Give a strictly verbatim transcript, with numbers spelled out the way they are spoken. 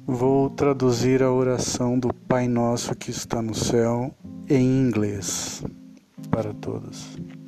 Vou traduzir a oração do Pai Nosso que está no céu em inglês para todos.